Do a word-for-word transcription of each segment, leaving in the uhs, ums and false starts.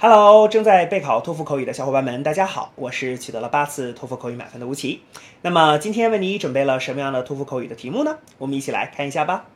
Hello，正在备考托福口语的小伙伴们，大家好，我是取得了八次托福口语满分的吴奇。那么今天为你准备了什么样的托福口语的题目呢？我们一起来看一下吧。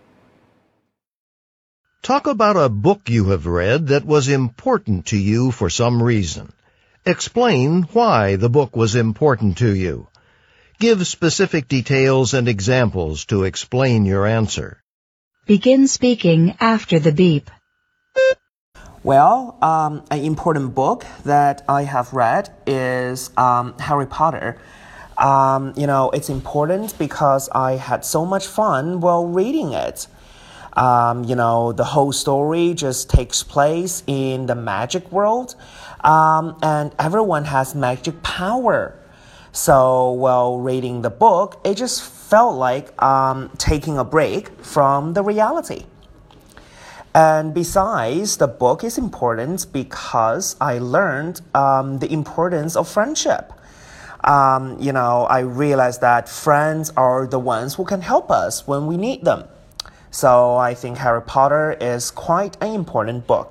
Talk about a book you have read that was important to you for some reason. Explain why the book was important to you. Give specific details and examples to explain your answer. Begin speaking after the beep. Well, um, an important book that I have read is um, Harry Potter. Um, you know, it's important because I had so much fun while reading it. Um, you know, the whole story just takes place in the magic world, um, and everyone has magic power. So while reading the book, it just felt like um, taking a break from the reality. And besides, the book is important because I learned um, the importance of friendship. Um, you know, I realized that friends are the ones who can help us when we need them. So I think Harry Potter is quite an important book.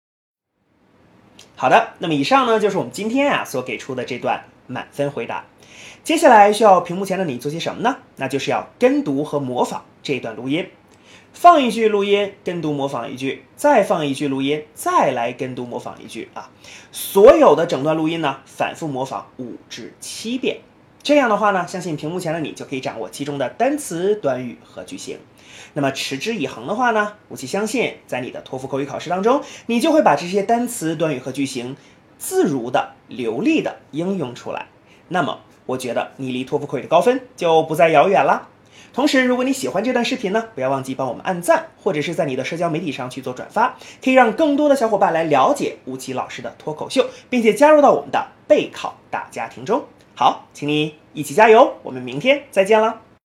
好的，那么以上呢就是我们今天啊所给出的这段满分回答。接下来需要屏幕前的你做些什么呢？那就是要跟读和模仿这段录音。放一句录音，跟读模仿一句，再放一句录音，再来跟读模仿一句啊！所有的整段录音呢，反复模仿五至七遍。这样的话呢，相信屏幕前的你就可以掌握其中的单词、短语和句型。那么持之以恒的话呢，吴奇相信在你的托福口语考试当中，你就会把这些单词、短语和句型自如的、流利的应用出来。那么，我觉得你离托福口语的高分就不再遥远了。同时，如果你喜欢这段视频呢，不要忘记帮我们按赞，或者是在你的社交媒体上去做转发，可以让更多的小伙伴来了解吴奇老师的脱口秀，并且加入到我们的备考大家庭中。好，请你一起加油，我们明天再见了。